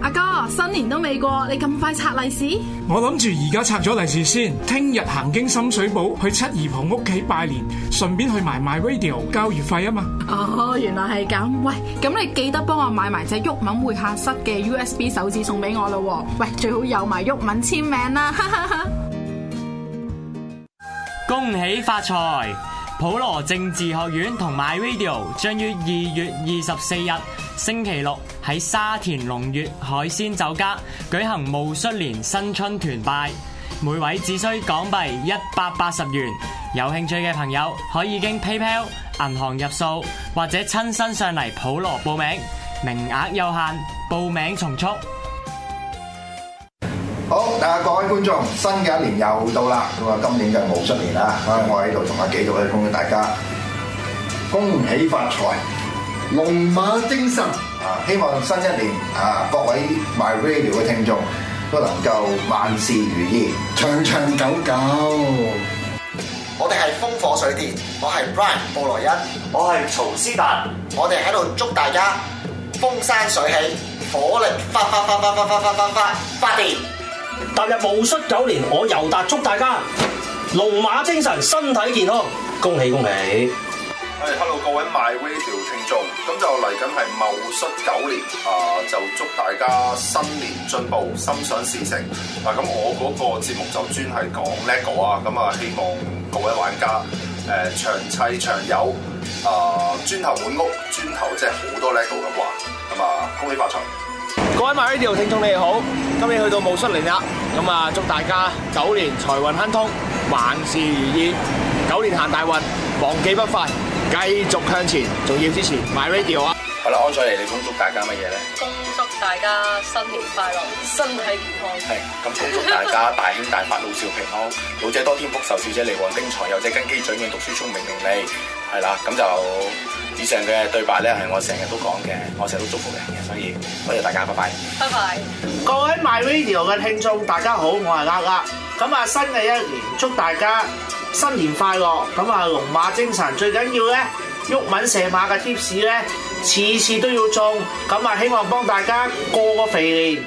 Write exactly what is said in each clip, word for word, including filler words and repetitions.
阿哥，新年都未過，你咁快拆利是？ 我諗住而家拆咗利是先，聽日行經深水埗去七姨婆屋企拜年，順便去埋 MyRadio 交月費啊嘛。 哦，原來係咁。喂，咁你記得幫我買埋隻毓民會客室嘅 U S B 手指送俾我咯。喂，最好有埋毓民簽名啦。哈哈哈。 恭喜發財！普羅政治學院同 MyRadio 將於二月二十四日星期六喺沙田龍悅海鮮酒家舉行戊戌年新春團拜，每位只需港幣一百八十元。有興趣嘅朋友可以經 PayPal、銀行入數或者親身上嚟普羅報名，名額有限，報名從速。 好，大家各位觀眾，新嘅一年又到啦，咁啊，今年就戊戌年啦，我喺度同阿紀導去恭喜大家，恭喜發財，龍馬精神啊！希望新一年啊，各位 MyRadio 嘅聽眾都能夠萬事如意，長長久久。 我哋係風火水電，我係 Brian 布萊恩， 我係曹思達， 我哋喺度祝大家風生水起，火力發發發發發發發發發發電。 踏入戊戌九年，我尤達祝大家龍馬精神，身體健康，恭喜恭喜！ 係、hey, hello 各位 MyRadio 聽眾，咁就嚟緊係戊戌九年啊，就祝大家新年進步，心想事成。嗱、啊，咁我嗰個節目就專係講 LEGO 啊，咁啊希望各位玩家誒、呃、長砌長有啊，磚頭滿屋，磚頭即係好多 LEGO 咁玩，咁啊恭喜發財！ 各位 MyRadio 聽眾你哋好，今年去到戊戌年啦，咁啊祝大家九年財運亨通，萬事如意，九年行大運，忘記不快，繼續向前，仲要支持 MyRadio 啊！ 好啦，安采妮，你恭祝大家乜嘢咧？ 恭祝大家新年快樂，身體健康。 係，咁恭祝大家大興大發，老少平安，老者多添福，壽少者嚟旺丁財，幼者根基長遠，讀書聰明伶俐。係啦，咁就以上嘅對白咧係我成日都講嘅，我成日都祝福人嘅，所以多謝大家，拜拜。 拜拜。 各位 MyRadio 嘅聽眾，大家好，我係呃呃。咁啊，新嘅一年祝大家新年快樂。咁啊，龍馬精神，最緊要咧，毓民射馬嘅 tips 咧，次次都要中。咁啊，希望幫大家過個肥年。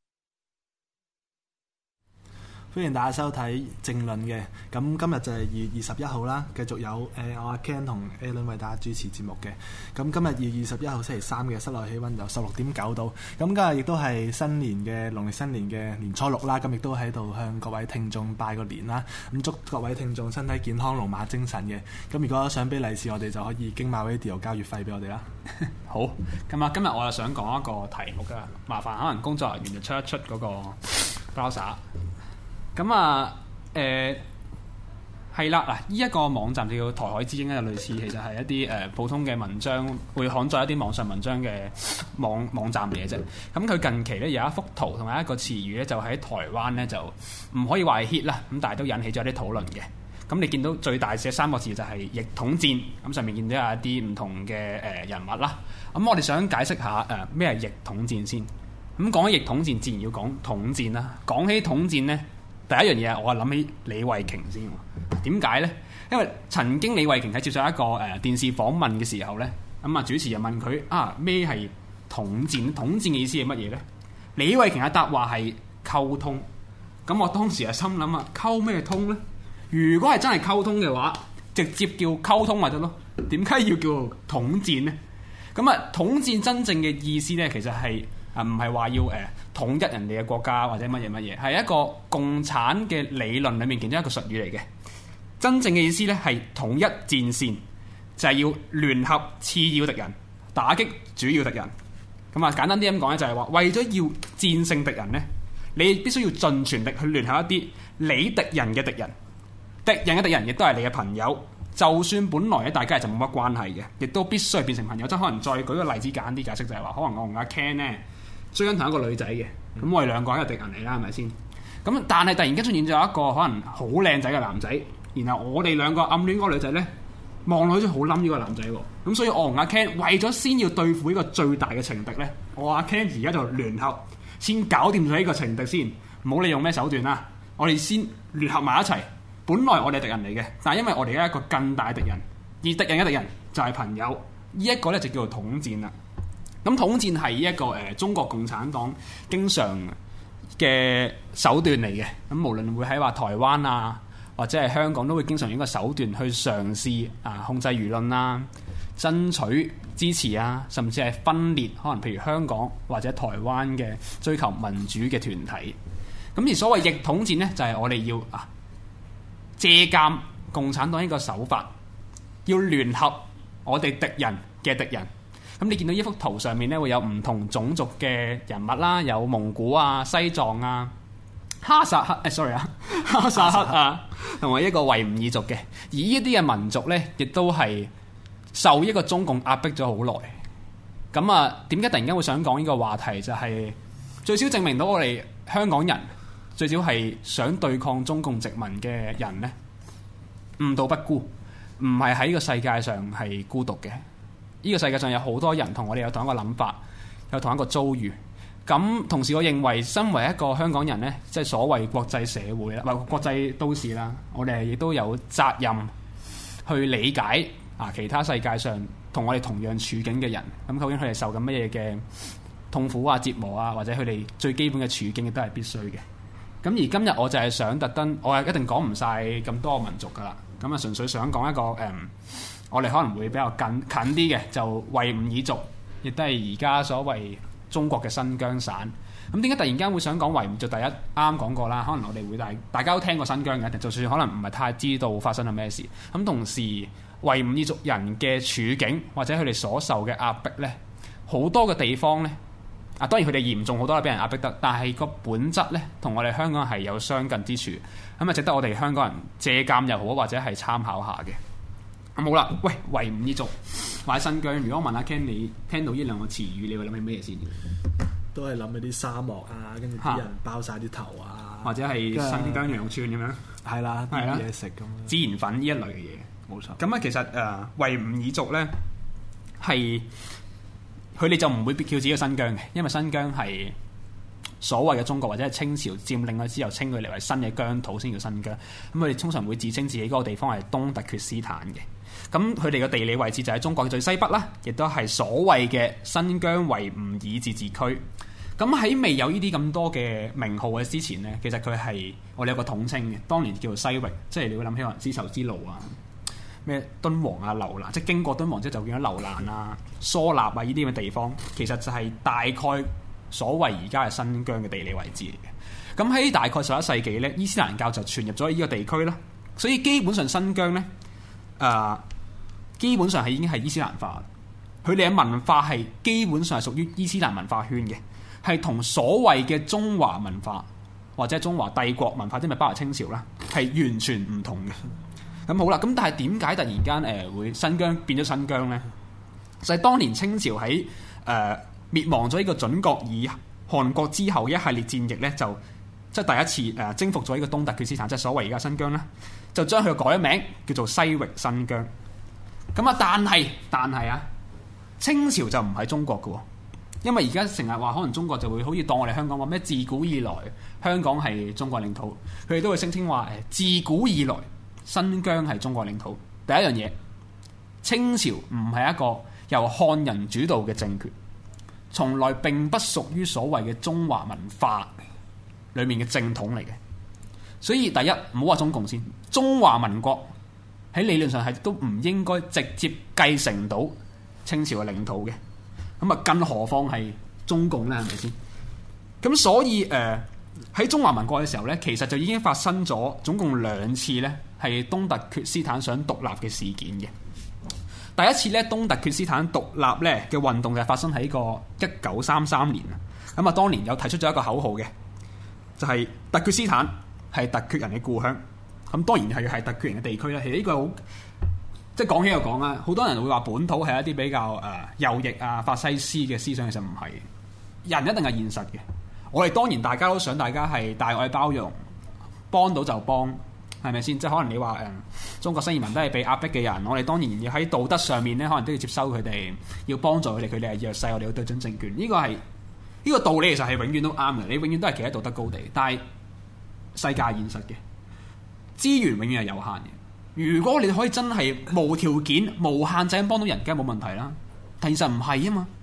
歡迎大家收睇政論嘅，咁今日就係二月二十一號啦，繼續有誒、呃、我阿 Ken 同 Alan 為大家主持節目嘅。咁今日二月二十一號星期三嘅室內氣温有十六點九度，咁今日亦都係新年嘅農曆新年嘅年初六啦，咁亦都喺度向各位聽眾拜個年啦，咁祝各位聽眾身體健康，龍馬精神嘅。咁如果想俾利是，我哋就可以經 MyRadio 交月費俾我哋啦。 好，咁啊，今日我又想講一個題目噶，麻煩可能工作人員就出一出嗰個 browser。咁啊，誒係啦，嗱，呢一個網站叫台海之鷹咧，就類似其實係一啲誒、呃、普通嘅文章，會刊載一啲網上文章嘅網網站嚟嘅啫。咁佢近期咧有一幅圖同埋一個詞語咧，就喺台灣咧就唔可以話係 hit 啦，咁但係都引起咗一啲討論嘅。咁你見到最大寫三個字就係逆統戰，咁上面見到有一啲唔同嘅誒、呃、人物啦。咁我哋想解釋下誒咩係逆統戰先。咁講起逆統戰，自然要講統戰啦。講起統戰咧，第一樣嘢，我係諗起李慧瓊先。點解呢？因為曾經李慧瓊喺接受一個誒、呃、電視訪問嘅時候呢，咁、嗯、啊主持人問佢啊咩係統戰？統戰嘅意思係乜嘢呢？李慧瓊嘅答話係溝通。咁我當時係心諗啊，溝咩通呢？如果係真係溝通嘅話，直接叫溝通咪得咯？點解要叫統戰呢？咁啊，統戰真正嘅意思呢，其實係。啊，唔係話要誒、呃、統一人哋嘅國家或者乜嘢乜嘢，係一個共產嘅理論裡面其中一個術語嚟嘅。真正嘅意思咧係統一戰線，就係、是、要聯合次要敵人，打擊主要敵人。咁啊，簡單啲咁講咧，就係話為咗要戰勝敵人咧，你必須要盡全力去聯合一啲你敵人嘅敵人，敵人嘅敵人亦都係你嘅朋友。就算本來咧大家係就冇乜關係嘅，亦都必須係變成朋友。即係可能再舉個例子簡單啲解釋，就係話可能我同阿 Ken 咧追緊同一個女仔嘅，咁、嗯、我哋兩個係敵人嚟啦，係咪先？咁但係突然間出現咗一個可能好靚仔嘅男仔，然後我哋兩個暗戀嗰個女仔咧，望落去好冧呢個男仔喎。咁所以我同阿 Ken 為咗先要對付呢個最大嘅情敵咧，我阿 Ken 而家就聯合先搞掂咗呢個情敵先，唔好理用咩手段啦，我哋先聯合埋一齊。本來我哋係敵人嚟嘅，但係因為我哋有一個更大嘅敵人，而敵人嘅敵人就係朋友，呢、這、一個咧就叫做統戰啦。 咁統戰係一個誒、呃、中國共產黨經常嘅手段嚟嘅。咁無論會喺話台灣啊，或者係香港，都會經常用一個手段去嘗試啊控制輿論啦、爭取支持啊，甚至係分裂可能譬如香港或者台灣嘅追求民主嘅團體。咁而所謂逆統戰呢，就係、是、我哋要啊借鑑共產黨呢個手法，要聯合我哋敵人嘅敵人。咁你見到呢幅圖上面咧，會有唔同種族嘅人物啦，有蒙古啊、西藏啊、哈薩克誒、哎、sorry 啊，哈薩克啊，同埋一個維吾爾族嘅。而呢啲嘅民族咧，亦都係受一個中共壓迫咗好耐。咁啊，點解突然間會想講呢個話題？就係、是、最少證明到我哋香港人最少係想對抗中共殖民嘅人咧，誤導不孤，唔係喺呢個世界上係孤獨嘅。呢個世界上有好多人同我哋有同一個諗法，有同一個遭遇。咁同時，我認為身為一個香港人呢，即係所謂國際社會啦，或國際都市啦，我哋亦都有責任去理解啊其他世界上同我哋同樣處境嘅人。咁究竟佢哋受緊乜嘢嘅痛苦啊、折磨啊，或者佢哋最基本嘅處境亦都係必須嘅。咁而今日我就係想特登，我係一定講唔晒咁多個民族噶啦。咁啊，純粹想講一個誒。嗯我哋可能會比較近近啲嘅，就維吾爾族，亦都係而家所謂中國嘅新疆省。咁點解突然間會想講維吾爾族？第一啱啱講過啦，可能我哋會大大家都聽過新疆嘅，就算可能唔係太知道發生咗咩事。咁同時維吾爾族人嘅處境或者佢哋所受嘅壓迫呢，好多嘅地方呢，啊當然佢哋嚴重好多啦，俾人壓迫得，但係個本質呢，同我哋香港係有相近之處，咁啊值得我哋香港人借鑑又好，或者係參考下嘅。咁好啦，喂，維吾爾族或者新疆，如果我問阿 Ken，你聽到呢兩個詞語，你會諗起咩嘢先？ 都係諗起啲沙漠啊，跟住啲人包晒啲頭啊， 或者係新疆羊串咁樣， 係啦，啲嘢食咁， 孜然粉呢一類嘅嘢，冇錯。咁啊，其實誒、呃、維吾爾族咧係佢哋就唔會叫自己嘅新疆嘅，因為新疆係所謂嘅中國或者係清朝佔領咗之後，稱佢嚟為新嘅疆土先叫新疆。咁佢哋通常會自稱自己嗰個地方係東突厥斯坦嘅。咁佢哋嘅地理位置就喺中國嘅最西北啦，亦都係所謂嘅新疆維吾爾自治區。咁喺未有呢啲咁多嘅名號嘅之前呢，其實佢係我哋有個統稱嘅，當年叫做西域，即係你會諗起可能絲綢之路啊、咩敦煌啊、樓蘭，即係經過敦煌之後就變咗樓蘭啊、疏納啊呢啲咁嘅地方，其實就係大概所謂而家係新疆嘅地理位置嚟嘅。咁喺大概十一世紀呢，伊斯蘭教就傳入咗呢個地區啦，所以基本上新疆呢，誒、呃、基本上係已經係伊斯蘭化，佢哋嘅文化係基本上係屬於伊斯蘭文化圈嘅。係同所謂嘅中華文化或者中華帝國文化，即係咪包括清朝啦，係完全唔同嘅。咁好啦，咁但係點解突然間誒、呃、會新疆變咗新疆呢？就係、是、當年清朝喺誒、呃、滅亡咗呢個準國爾汗國之後，一系列戰役呢，就即係第一次誒、呃、征服咗呢個東突厥斯坦，即係所謂而家新疆啦，就將佢改名叫做西域新疆。咁啊，但係但係啊，清朝就唔係中國嘅喎。因為而家成日話可能中國就會好似當我哋香港話咩自古以來香港係中國領土，佢哋都會聲稱話誒自古以來新疆係中國領土。第一樣嘢，清朝唔係一個由漢人主導嘅政權，從來並不屬於所謂嘅中華文化裡面嘅正統嚟嘅。所以第一唔好話中共先，中華民國喺理論上係都唔應該直接繼承到清朝嘅領土嘅。咁啊，更何況係中共咧，係咪先？咁所以誒，喺、呃、中華民國嘅時候咧，其實就已經發生咗總共兩次咧，係東突厥斯坦想獨立嘅事件嘅。第一次咧，東突厥斯坦獨立咧嘅運動就係發生喺個一九三三年啊。咁啊，當年有提出咗一個口號嘅，就係、是、突厥斯坦係突厥人嘅故鄉。咁當然係係突厥人嘅地區啦。其實呢個好。即係講起又講啦，好多人會話本土係一啲比較誒、呃、右翼啊、法西斯嘅思想，其實唔係。人一定係現實嘅。我哋當然大家都想大家係大愛包容，幫到就幫，係咪先？即係可能你話誒、呃、中國新移民都係被壓迫嘅人，我哋當然要喺道德上面咧，可能都要接收佢哋，要幫助佢哋，佢哋係弱勢，我哋要對準政權。呢、這個係呢、這個道理其實係永遠都啱嘅，你永遠都係企喺道德高地。但係世界係現實嘅，資源永遠係有限嘅。如果你可以真係無條件、無限制咁幫到人，梗係冇問題啦。但現實唔係啊嘛。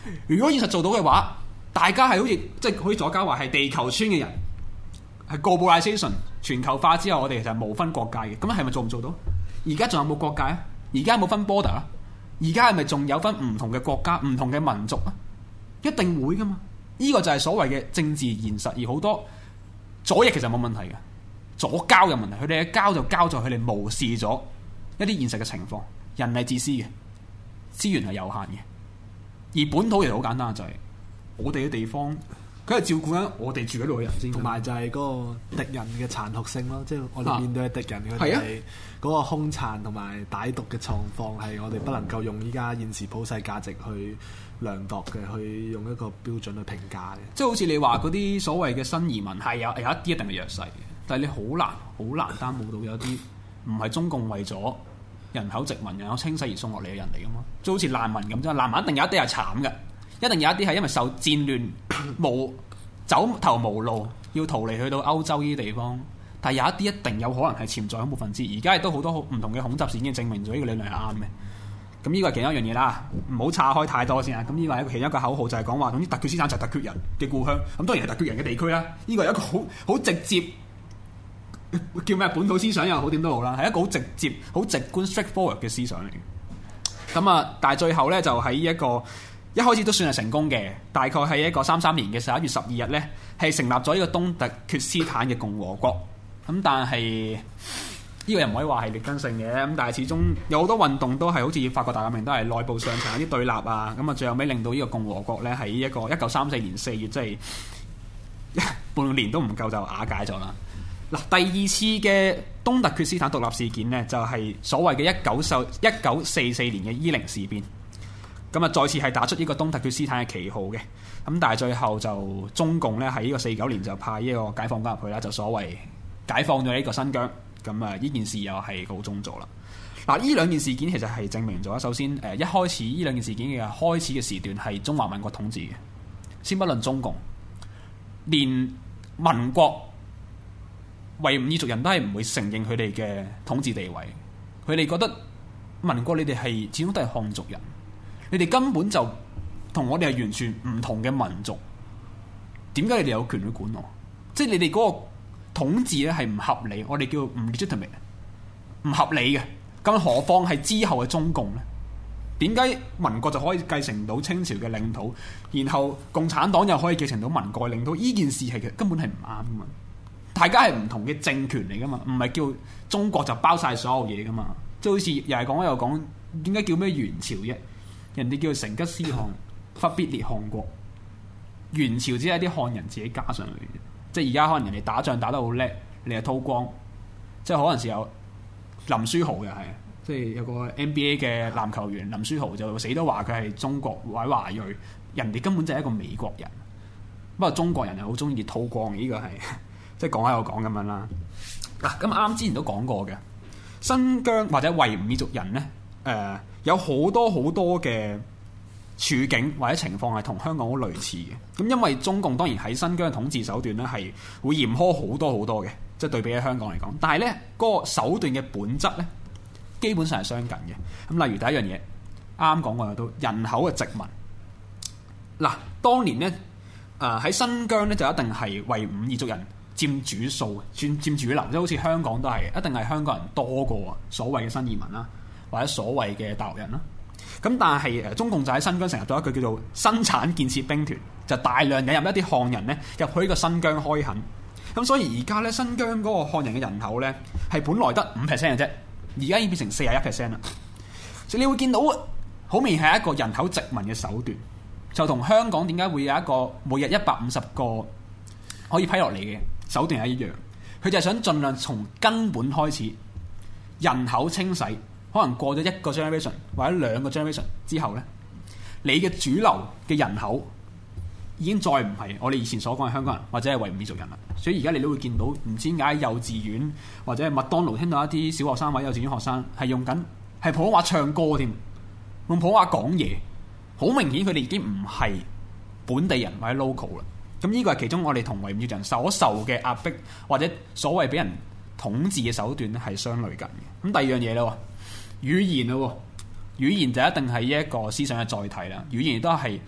如果現實做到嘅話，大家係好似即係好似左家話係地球村嘅人，係 globalization 全球化之後，我哋其實冇分國界嘅。咁係咪做唔做到？而家仲有冇國界啊？而家有冇分 border 啊？而家係咪仲有分唔同嘅國家、唔同嘅民族啊？一定會噶嘛？呢、這個就係所謂嘅政治現實，而好多左翼其實冇問題嘅，左膠嘅問題，佢哋嘅膠就膠在佢哋無視咗一啲現實嘅情況。人係自私嘅，資源係有限嘅，而本土其實好簡單，就係、是、我哋嘅地方，佢係照顧緊我哋住喺度嘅人先， 同埋就係嗰個敵人嘅殘酷性咯，即係我哋面對嘅敵人，佢係啊哋嗰個兇殘同埋歹毒嘅狀況係我哋不能夠用依家現時普世價值去量度嘅，去用一個標準去評價嘅。 即係好似你話嗰啲所謂嘅新移民係有有一啲一定係弱勢嘅，但係你好難好難擔保到有啲唔係中共為咗人口殖民、人口清洗而送落嚟嘅人嚟噶嘛？即係好似難民咁啫，難民一定有一啲係慘嘅，一定有一啲係因為受戰亂無走投無路，要逃離去到歐洲呢啲地方。但係有一啲一定有可能係潛在恐怖分子，而家亦都好多唔同嘅恐襲事件證明咗呢個理論係啱嘅。咁呢個係其中一樣嘢啦，唔好岔開太多先啊。咁呢個係一個其中一個口號，就係講話總之突厥斯坦就係突厥人嘅故鄉。咁當然係突厥人嘅地區啦。呢個係一個好好直接叫咩本土思想又好點都好啦，係一個好直接、好直觀 straightforward 嘅思想嚟嘅。咁啊，但係最後咧就喺一個一開始都算係成功嘅，大概喺一個三三年嘅十一月十二日咧，係成立咗呢個東突厥斯坦嘅共和國。咁但係呢、這個又唔可以話係劣根性嘅，咁但係始終有好多運動都係好似法國大革命都係內部上層有啲對立啊，咁啊最後尾令到呢個共和國咧喺一個一九三四年四月，即係半年都唔夠就瓦解咗啦。嗱，第二次嘅東突厥斯坦獨立事件呢，就係、是、所謂嘅一九四一九四四年嘅伊寧事變，咁啊再次係打出呢個東突厥斯坦嘅旗號嘅，咁但係最後就中共咧喺呢個四九年就派呢個解放軍入去啦，就所謂解放咗呢個新疆，咁啊呢件事又係告終咗啦。嗱，呢兩件事件其實係證明咗，首先誒一開始呢兩件事件嘅開始嘅時段係中華民國統治嘅，先不論中共，連民國維吾爾族人都係唔會承認佢哋嘅統治地位，佢哋覺得民國你哋係始終都係漢族人，你哋根本就同我哋係完全唔同嘅民族，點解你哋有權去管我？即係你哋嗰個統治咧係唔合理，我哋叫唔 legitimate， 唔合理嘅。咁何況係之後嘅中共呢？點解民國就可以繼承到清朝嘅領土，然後共產黨又可以繼承到民國嘅領土？呢件事係根本係唔啱噶嘛？大家係唔同嘅政權嚟噶嘛，唔係叫中國就包晒所有嘢噶嘛。即係好似又係講又講，點解叫咩元朝啫？人哋叫成吉思汗，忽必烈汗國。元朝只係啲漢人自己加上去嘅，即係而家可能人哋打仗打得好叻，你係韜光，即係可能時有林書豪嘅係，即係有個 N B A 嘅籃球員林書豪就死都話佢係中國或者華裔，人哋根本就係一個美國人。不過中國人係好中意韜光，呢、這個係。即係講喺度講咁樣啦。嗱、啊，咁啱之前都講過嘅，新疆或者維吾爾族人呢，誒、呃、有好多好多嘅處境或者情況係同香港好類似嘅。咁因為中共當然喺新疆嘅統治手段呢係會嚴苛好多好多嘅，即係對比喺香港嚟講。但係呢嗰、那個手段嘅本質呢，基本上係相近嘅。咁例如第一樣嘢，啱啱講過都人口嘅殖民。嗱、啊，當年呢，誒、呃、喺新疆呢，就一定係維吾爾族人佔主數，佔佔主流，即係好似香港都係，一定係香港人多過所謂嘅新移民啦，或者所謂嘅大陸人啦。咁但係誒，中共就喺新疆成立咗一個叫做生產建設兵團，就大量引入一啲漢人咧入去呢個新疆開墾。咁所以而家咧新疆嗰個漢人嘅人口咧係本來得五 percent 嘅啫，而家已經變成四十一 percent 啦。所以你會見到好明顯係一個人口殖民嘅手段，就同香港點解會有一個每日一百五十個可以批落嚟嘅手段係一樣，佢就係想盡量從根本開始人口清洗，可能過咗一個 generation 或者兩個 generation 之後呢，你嘅主流嘅人口已經再唔係我哋以前所講嘅香港人或者係維吾爾族人啦。所以而家你都會見到唔知點解幼稚園或者係麥當勞聽到一啲小學生或者幼稚園學生係用緊係普通話唱歌添，用普通話講嘢，好明顯佢哋已經唔係本地人或者 local 啦。咁呢個係其中我哋同維吾爾人所受嘅壓迫或者所謂俾人統治嘅手段咧係相類近嘅。咁第二樣嘢啦，語言啦，語言就一定係一個思想嘅載體啦。語言都係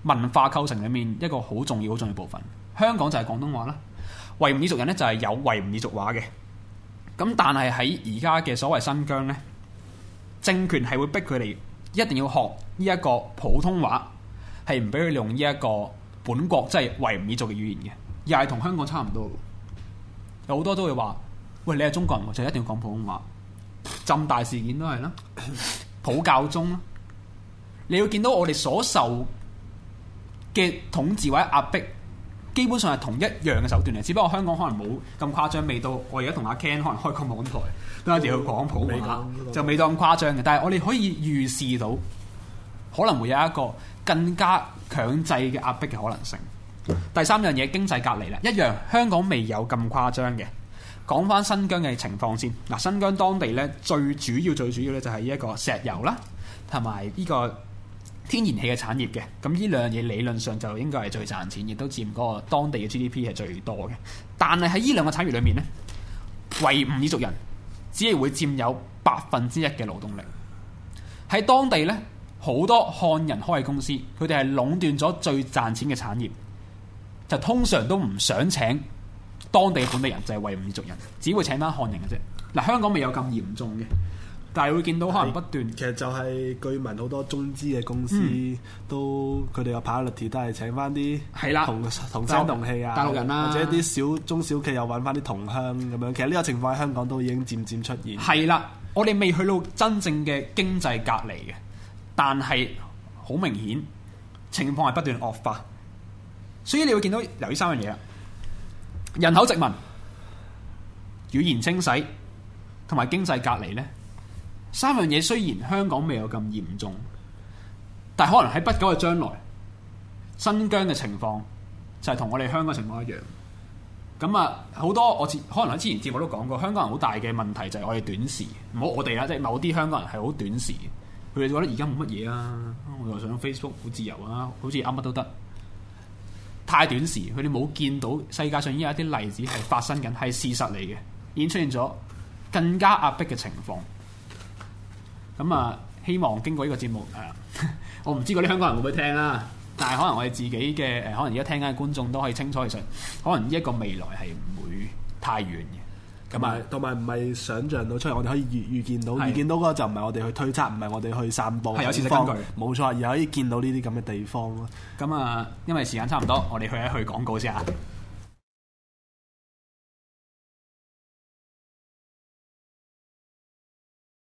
文化構成裡面一個好重要、好重要部分。香港就係廣東話啦，維吾爾族人咧就係有維吾爾族話嘅。咁但係喺而家嘅所謂新疆咧，政權係會逼佢哋一定要學呢一個普通話，係唔俾佢用呢一個本國即係維吾爾族嘅語言嘅，又係同香港差唔多。有好多都會話：喂，你係中國人，就一定要講普通話。浸大事件都係啦，普教中啦，你要見到我哋所受嘅統治或者壓迫，基本上係同一樣嘅手段嚟，只不過香港可能冇咁誇張，未到我而家同阿 Ken 可能開個網台都一定要講普話，就未到咁誇張嘅。但係我哋可以預示到，可能會有一個更加強制嘅壓迫嘅可能性。第三樣嘢，經濟隔離啦，一樣香港未有咁誇張嘅。講翻新疆嘅情況先，嗱，新疆當地咧最主要最主要咧就係呢一個石油啦，同埋呢個天然氣嘅產業嘅。咁呢兩樣嘢理論上就應該係最賺錢，亦都佔嗰個當地嘅 G D P 係最多嘅。但係喺呢兩個產業裏面咧，維吾爾族人只係會佔有百分之一嘅勞動力。喺當地咧，好多漢人開嘅公司，佢哋係壟斷咗最賺錢嘅產業，就通常都唔想請當地本地人，就係維吾爾族人，只會請翻漢人嘅啫。嗱，香港未有咁嚴重嘅，但係會見到可能不斷。 其實就係據聞好多中資嘅公司、嗯、都佢哋嘅 priority 都係請翻啲係啦同同聲同氣啊， 大陸人啦， 或者啲小中小企又揾翻啲同鄉咁樣。其實呢個情況喺香港都已經漸漸出現。 係啦，我哋未去到真正嘅經濟隔離嘅，但係好明顯情況係不斷惡化。所以你會見到由於三樣嘢啦。人口殖民、語言清洗同埋經濟隔離呢三樣嘢雖然香港未有咁嚴重，但係可能喺不久嘅將來，新疆嘅情況就係同我哋香港情況一樣。咁啊，好多我可能喺之前節目都講過，香港人好大嘅問題就係我哋短視，唔好我哋啦，即係某啲香港人係好短視，佢哋覺得而家冇乜嘢啊，我又上 Facebook 好自由啊，好似啱乜都得。太短時，佢哋冇見到世界上已經有一啲例子係發生緊，係事實嚟嘅，已經出現咗更加壓迫嘅情況。咁啊，希望經過呢個節目，誒，我唔知嗰啲香港人會唔會聽啦，但係可能我哋自己嘅誒，可能而家聽緊嘅觀眾都可以清楚，其實可能呢一個未來係唔會太遠嘅。 同埋同埋唔係想像到出嚟，我哋可以預預見到，預見到嗰個就唔係我哋去推測，唔係我哋去散佈， 係有事實根據， 冇錯，而可以見到呢啲咁嘅地方咯。 咁啊，因為時間差唔多，我哋去一去廣告先嚇。